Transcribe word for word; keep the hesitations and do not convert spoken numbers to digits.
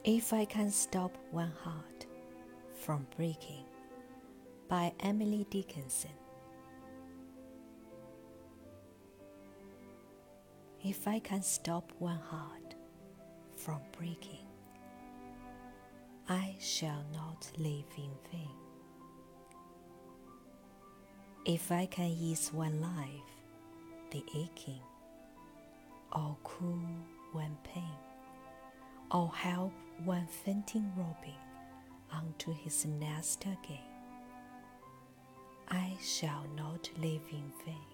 If I Can Stop One Heart from Breaking by Emily Dickinson. If I can stop one heart from breaking, I shall not live in vain. If I can ease one life, the aching, or cool one pain, or help one fainting robin unto his nest again, I shall not live in vain.